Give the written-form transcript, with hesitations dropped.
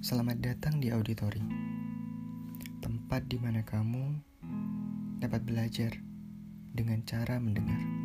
Selamat datang di auditori, tempat di mana kamu dapat belajar dengan cara mendengar.